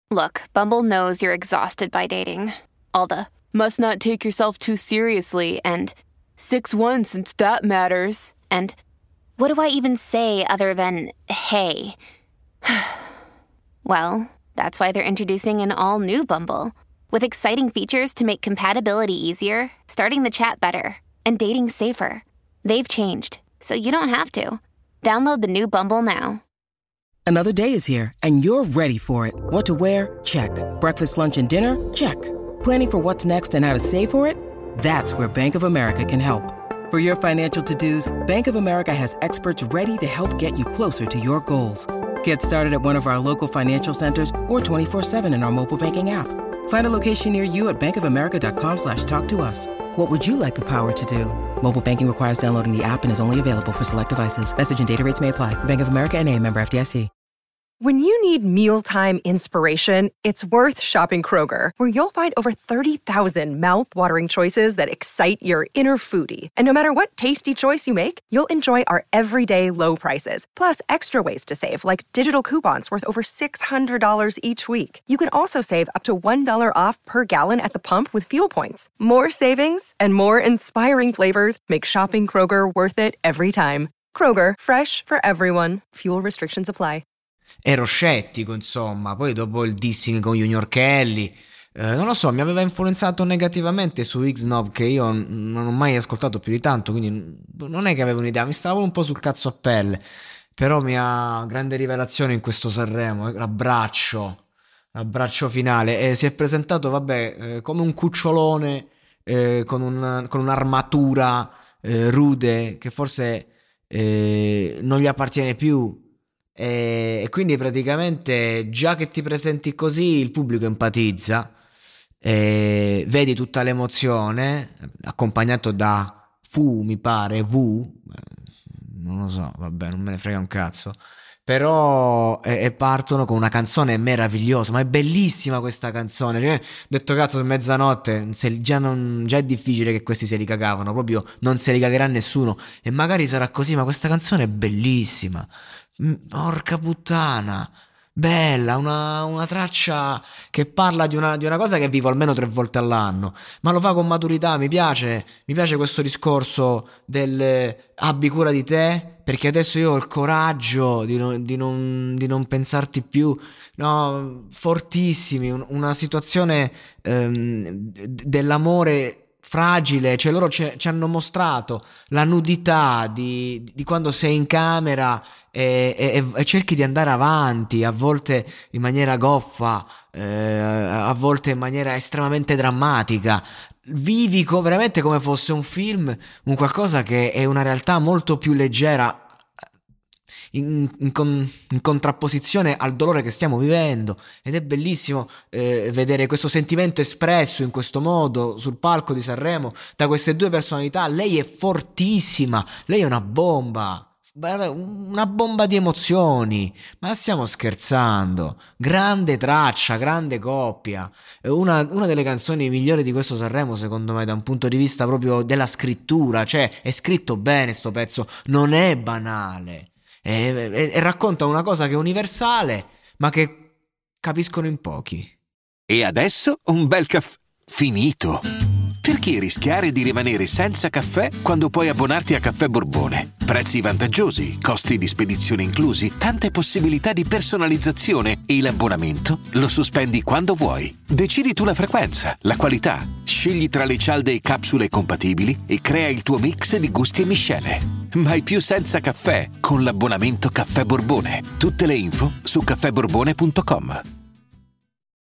Look, Bumble knows you're exhausted by dating. All the must not take yourself too seriously and 6'1" since that matters. And what do I even say other than hey? Well, that's why they're introducing an all-new Bumble with exciting features to make compatibility easier, starting the chat better, and dating safer. They've changed, so you don't have to. Download the new Bumble now. Another day is here, and you're ready for it. What to wear? Check. Breakfast, lunch, and dinner? Check. Planning for what's next and how to save for it? That's where Bank of America can help. For your financial to-dos, Bank of America has experts ready to help get you closer to your goals. Get started at one of our local financial centers or 24/7 in our mobile banking app. Find a location near you at bankofamerica.com/talktous. What would you like the power to do? Mobile banking requires downloading the app and is only available for select devices. Message and data rates may apply. Bank of America N.A., member FDIC. When you need mealtime inspiration, it's worth shopping Kroger, where you'll find over 30,000 mouth-watering choices that excite your inner foodie. And no matter what tasty choice you make, you'll enjoy our everyday low prices, plus extra ways to save, like digital coupons worth over $600 each week. You can also save up to $1 off per gallon at the pump with fuel points. More savings and more inspiring flavors make shopping Kroger worth it every time. Kroger, fresh for everyone. Fuel restrictions apply. Ero scettico, insomma, poi dopo il dissing con Junior Kelly, non lo so, mi aveva influenzato negativamente su X-Nob, che io non ho mai ascoltato più di tanto, quindi non è che avevo un'idea, mi stavo un po' sul cazzo a pelle, però mia grande rivelazione in questo Sanremo, l'abbraccio finale, si è presentato, come un cucciolone, con un'armatura rude, che forse non gli appartiene più. E quindi praticamente già che ti presenti così il pubblico empatizza, vedi tutta l'emozione accompagnato da non lo so, vabbè, non me ne frega un cazzo, però e partono con una canzone meravigliosa, ma è bellissima questa canzone, cioè, detto cazzo, mezzanotte già è difficile che questi se li cagavano, proprio non se li cagherà nessuno, e magari sarà così, ma questa canzone è bellissima. Porca puttana, bella, una traccia che parla di una cosa che vivo almeno 3 volte all'anno, ma lo fa con maturità. Mi piace questo discorso del abbi cura di te, perché adesso io ho il coraggio di non pensarti più, no, fortissimi, una situazione dell'amore fragile, cioè loro ci hanno mostrato la nudità di quando sei in camera e cerchi di andare avanti, a volte in maniera goffa, a volte in maniera estremamente drammatica. Vivi veramente come fosse un film, un qualcosa che è una realtà molto più leggera, in contrapposizione al dolore che stiamo vivendo, ed è bellissimo vedere questo sentimento espresso in questo modo sul palco di Sanremo da queste due personalità. Lei è fortissima, lei è una bomba di emozioni, ma stiamo scherzando? Grande traccia, grande coppia, una delle canzoni migliori di questo Sanremo secondo me, da un punto di vista proprio della scrittura, cioè è scritto bene sto pezzo, non è banale. E racconta una cosa che è universale, ma che capiscono in pochi. E adesso un bel caffè finito. Perché rischiare di rimanere senza caffè quando puoi abbonarti a Caffè Borbone? Prezzi vantaggiosi, costi di spedizione inclusi, tante possibilità di personalizzazione e l'abbonamento lo sospendi quando vuoi. Decidi tu la frequenza, la qualità, scegli tra le cialde e capsule compatibili e crea il tuo mix di gusti e miscele. Mai più senza caffè con l'abbonamento Caffè Borbone. Tutte le info su caffèborbone.com.